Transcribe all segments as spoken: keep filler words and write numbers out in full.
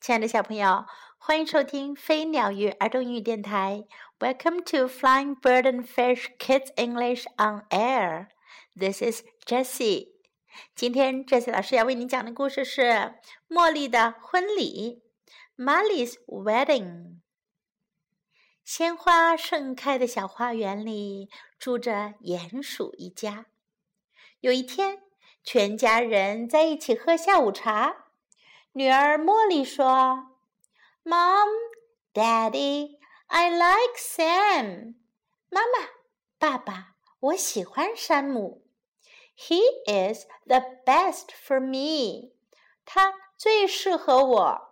亲爱的小朋友，欢迎收听飞鸟鱼儿童英语电台。Welcome to Flying Bird and Fish Kids English on Air. This is Jessie. 今天 Jessie 老师要为你讲的故事是茉莉的婚礼 Molly's Wedding. 鲜花盛开的小花园里住着鼹鼠一家。有一天，全家人在一起喝下午茶。女儿茉莉说 Mom, Daddy, I like Sam. 妈妈，爸爸，我喜欢山姆。He is the best for me. 他最适合我。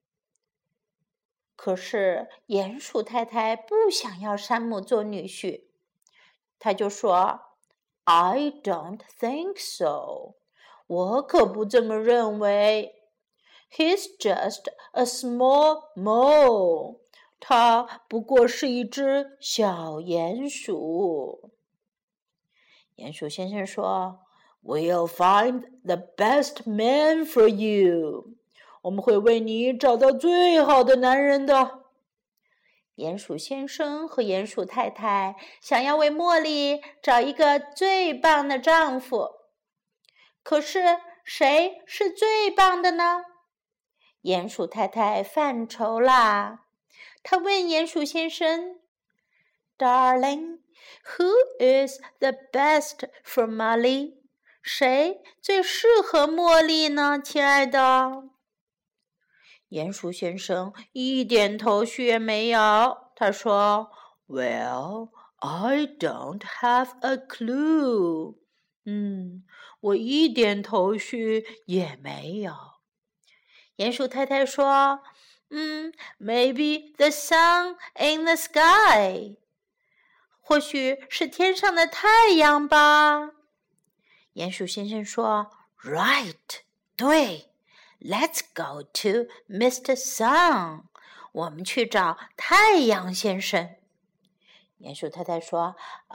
可是鼹鼠太太不想要山姆做女婿，她就说 I don't think so. 我可不这么认为。He's just a small mole. 他不过是一只小鼹鼠。鼹鼠先生说 We'll find the best man for you. 我们会为你找到最好的男人的。鼹鼠先生和鼹鼠太太想要为茉莉找一个最棒的丈夫。可是谁是最棒的呢？鼹鼠太太犯愁啦，她问鼹鼠先生 Darling, who is the best for Molly? 谁最适合茉莉呢，亲爱的？鼹鼠先生一点头绪也没有，他说 Well, I don't have a clue. 嗯，我一点头绪也没有。鼹鼠太太说嗯 Maybe the sun in the sky. 或许是天上的太阳吧。鼹鼠先生说 Right, 对。Let's go to Mister Sun. 我们去找太阳先生。鼹鼠太太说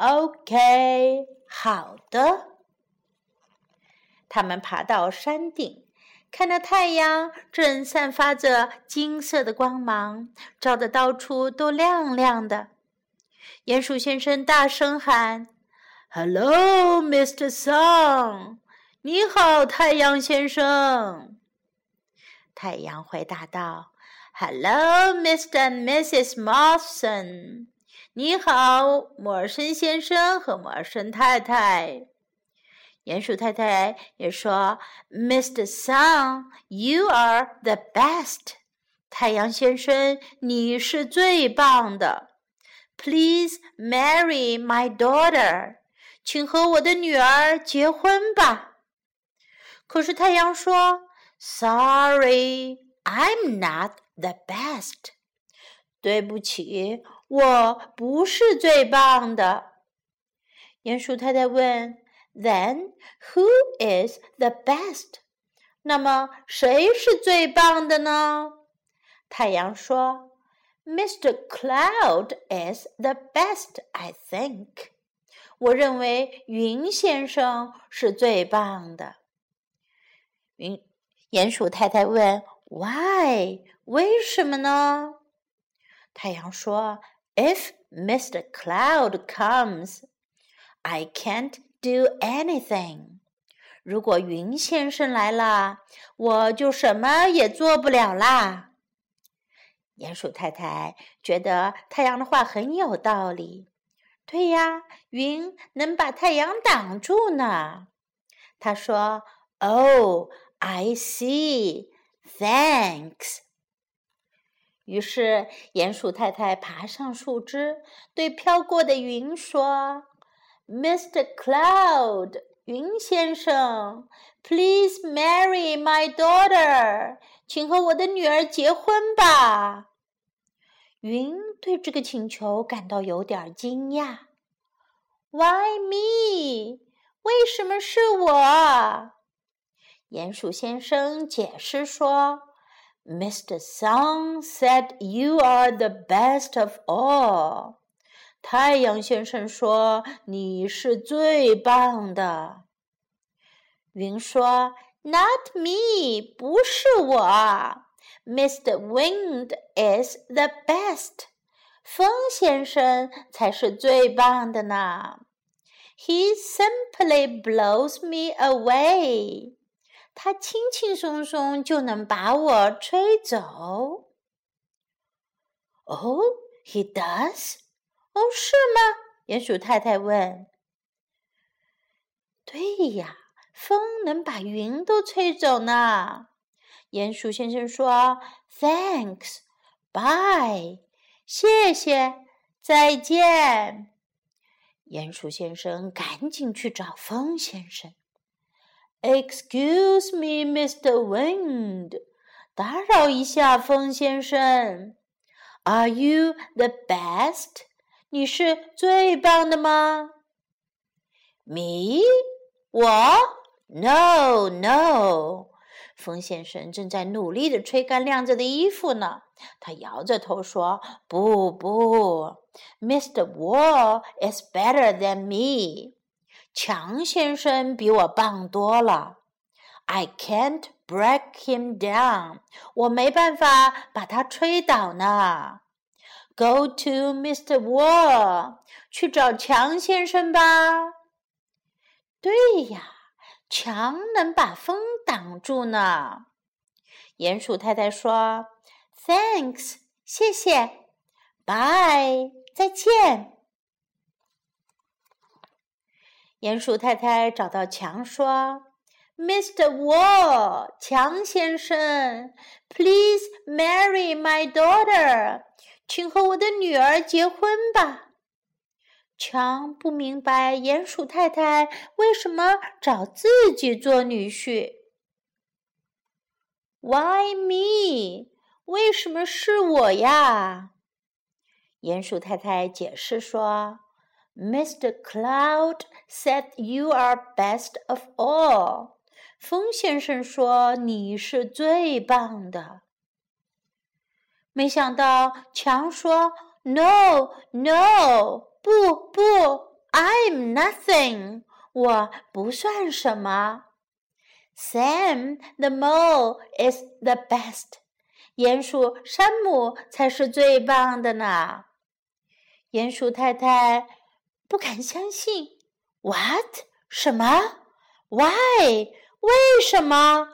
OK, 好的。他们爬到山顶，看到太阳正散发着金色的光芒，照得到处都亮亮的。鼹鼠先生大声喊 Hello, Mister Sun. 你好，太阳先生。太阳回答道 Hello, Mister and Missus Morrison. 你好，莫尔森先生和莫尔森太太。鼹鼠太太也说 Mister Sun, you are the best. 太阳先生，你是最棒的。Please marry my daughter. 请和我的女儿结婚吧。可是太阳说 Sorry, I'm not the best. 对不起，我不是最棒的。鼹鼠太太问Then, who is the best? 那么谁是最棒的呢？太阳说 Mister Cloud is the best, I think. 我认为云先生是最棒的。云鼹鼠太太问 Why? 为什么呢？太阳说 If Mister Cloud comes, I can't do anything. 如果云先生来了，我就什么也做不了啦。鼹鼠太太觉得太阳的话很有道理。对呀，云能把太阳挡住呢。他说 Oh, I see. Thanks. 于是鼹鼠太太爬上树枝，对飘过的云说Mister Cloud, 云先生 Please marry my daughter. 请和我的女儿结婚吧。云对这个请求感到有点惊讶。Why me? 为什么是我？鼹鼠先生解释说 Mister Sun said you are the best of all. 太阳先生说你是最棒的。云说 Not me, 不是我。 Mister Wind is the best. 风先生才是最棒的呢。He simply blows me away. 他轻轻松松就能把我吹走。Oh, he does? 哦，是吗？鼹鼠太太问。对呀，风能把云都吹走呢。鼹鼠先生说 Thanks, bye. 谢谢，再见。鼹鼠先生赶紧去找风先生。Excuse me, Mister Wind. 打扰一下，风先生。Are you the best? 你是最棒的吗？ Me? 我 ？No, no. 风先生正在努力地吹干晾着的衣服呢。他摇着头说：“不不 ，Mister Wall is better than me. 强先生比我棒多了。I can't break him down. 我没办法把他吹倒呢。Go to Mister Wall. 去找强先生吧。”对呀，墙能把风挡住呢。鼹鼠太太说 Thanks, 谢谢 Bye, 再见。鼹鼠太太找到墙说 Mister Wall, 墙先生 Please marry my daughter. 请和我的女儿结婚吧。强不明白鼹鼠太太为什么找自己做女婿。Why me? 为什么是我呀？鼹鼠太太解释说 Mister Cloud said you are best of all. 风先生说你是最棒的。没想到强说 No, no.不不 I'm nothing. 我不算什么。Sam the mole is the best. 鼹鼠山姆才是最棒的呢。鼹鼠太太不敢相信。What? 什么 ？Why? 为什么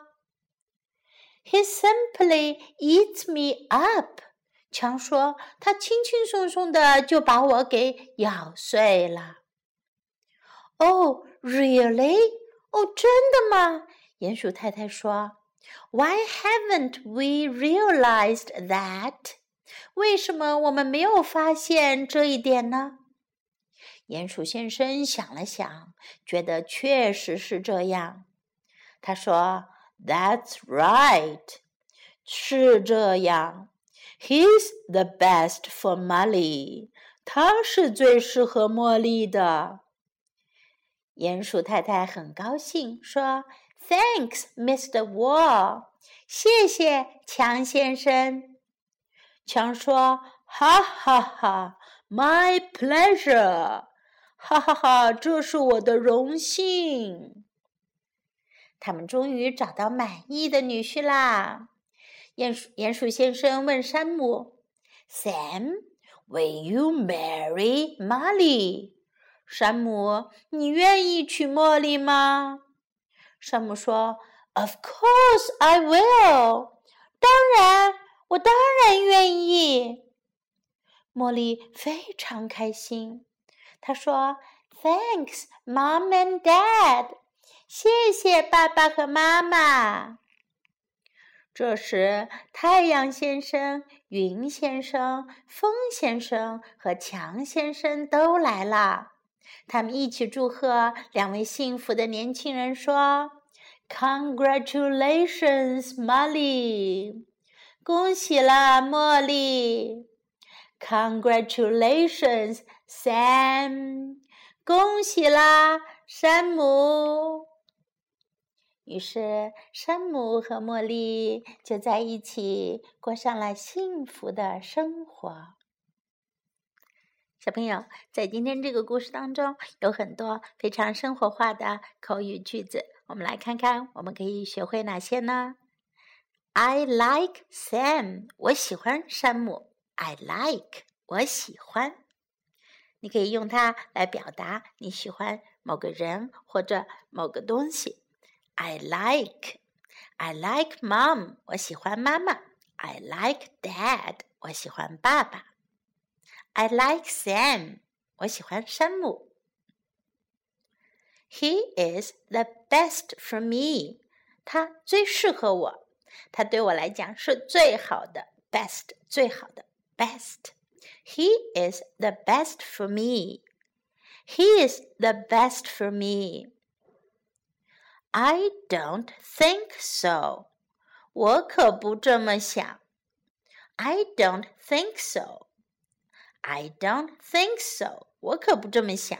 ？He simply eats me up.强说他轻轻松松的就把我给咬碎了。Oh, really? 哦，真的吗？鼹鼠太太说 Why haven't we realized that? 为什么我们没有发现这一点呢？鼹鼠先生想了想，觉得确实是这样。他说 That's right. 是这样。He's the best for Molly. 他是最适合茉莉的。鼹鼠太太很高兴，说 Thanks, Mister Wall. 谢谢强先生。强说哈哈哈 My pleasure. 哈哈哈，这是我的荣幸。他们终于找到满意的女婿啦。鼹鼠鼹鼠先生问山姆 Sam, will you marry Molly? 山姆，你愿意娶茉莉吗？山姆说 Of course I will. 当然，我当然愿意。茉莉非常开心。她说 Thanks, Mom and Dad. 谢谢爸爸和妈妈。这时，太阳先生、云先生、风先生和强先生都来了。他们一起祝贺两位幸福的年轻人，说 Congratulations, Molly. 恭喜了，茉莉。Congratulations, Sam. 恭喜啦，山姆。于是，山姆和茉莉就在一起过上了幸福的生活。小朋友，在今天这个故事当中，有很多非常生活化的口语句子，我们来看看我们可以学会哪些呢？ I like Sam. 我喜欢山姆。I like. 我喜欢。你可以用它来表达你喜欢某个人或者某个东西。I like. I like Mom. 我喜欢妈妈。I like Dad. 我喜欢爸爸。I like Sam. 我喜欢山姆。He is the best for me. 他最适合我。他对我来讲是最好的 best 最好的 best He is the best for me He is the best for me I don't think so 我可不这么想 I don't think so I don't think so 我可不这么想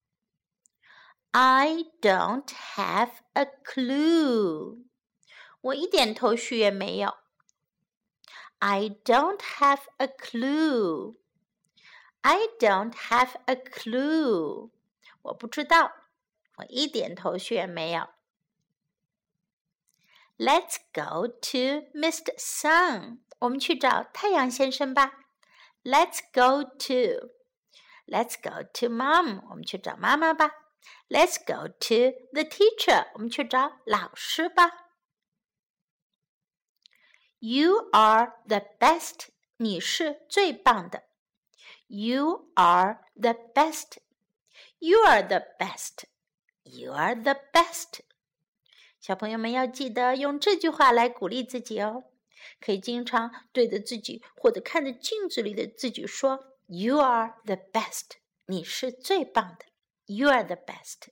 I don't have a clue我一点头绪也没有。I don't have a clue. I don't have a clue. 我不知道，我一点头绪也没有。Let's go to Mister Sun. 我们去找太阳先生吧。Let's go to. Let's go to Mom. 我们去找妈妈吧。Let's go to the teacher. 我们去找老师吧。You are the best. 你是最棒的。You are the best. You are the best. You are the best. 小朋友们要记得用这句话来鼓励自己哦。可以经常对着自己或者看着镜子里的自己说 You are the best. 你是最棒的。You are the best.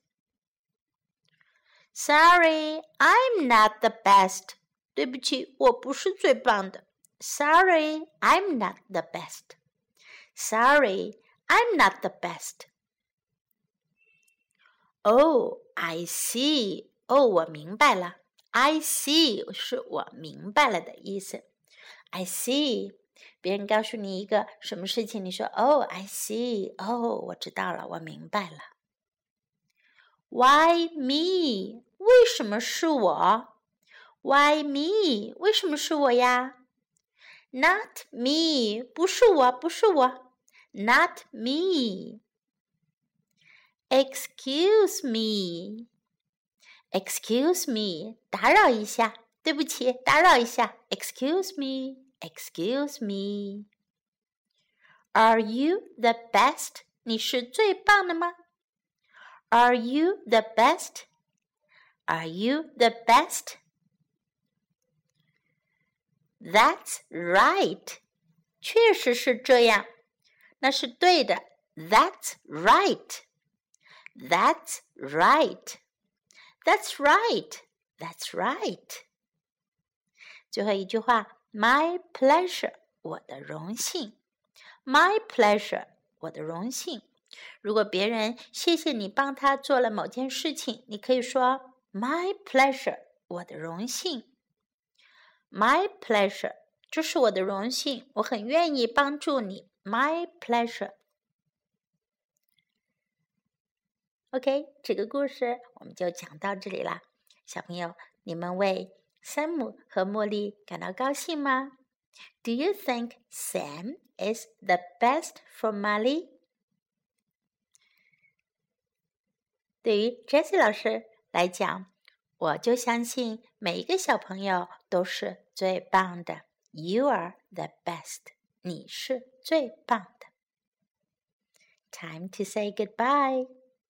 Sorry, I'm not the best.对不起，我不是最棒的。Sorry, I'm not the best. Sorry, I'm not the best. Oh, I see. 哦，我明白了。I see 是我明白了的意思。I see. 别人告诉你一个什么事情，你说 Oh, I see. 哦，我知道了，我明白了。Why me? 为什么是我？Why me? 为什么是我呀 ？Not me. 不是我，不是我。Not me. Excuse me. Excuse me. 打扰一下，对不起，打扰一下。Excuse me. Excuse me. Are you the best? 你是最棒的吗 ？Are you the best? Are you the best?That's right. 确实是这样，那是对的。That's right. That's right. That's right. That's right. 最后一句话 My pleasure. 我的荣幸。My pleasure. 我的荣幸。如果别人谢谢你帮他做了某件事情，你可以说 My pleasure. 我的荣幸。My pleasure. 这是我的荣幸，我很愿意帮助你。My pleasure. OK， 这个故事我们就讲到这里啦。小朋友，你们为山姆和茉莉感到高兴吗 ？Do you think Sam is the best for Molly？ 对于 Jessie 老师来讲，我就相信每一个小朋友都是最棒的。You are the best. 你是最棒的。Time to say goodbye.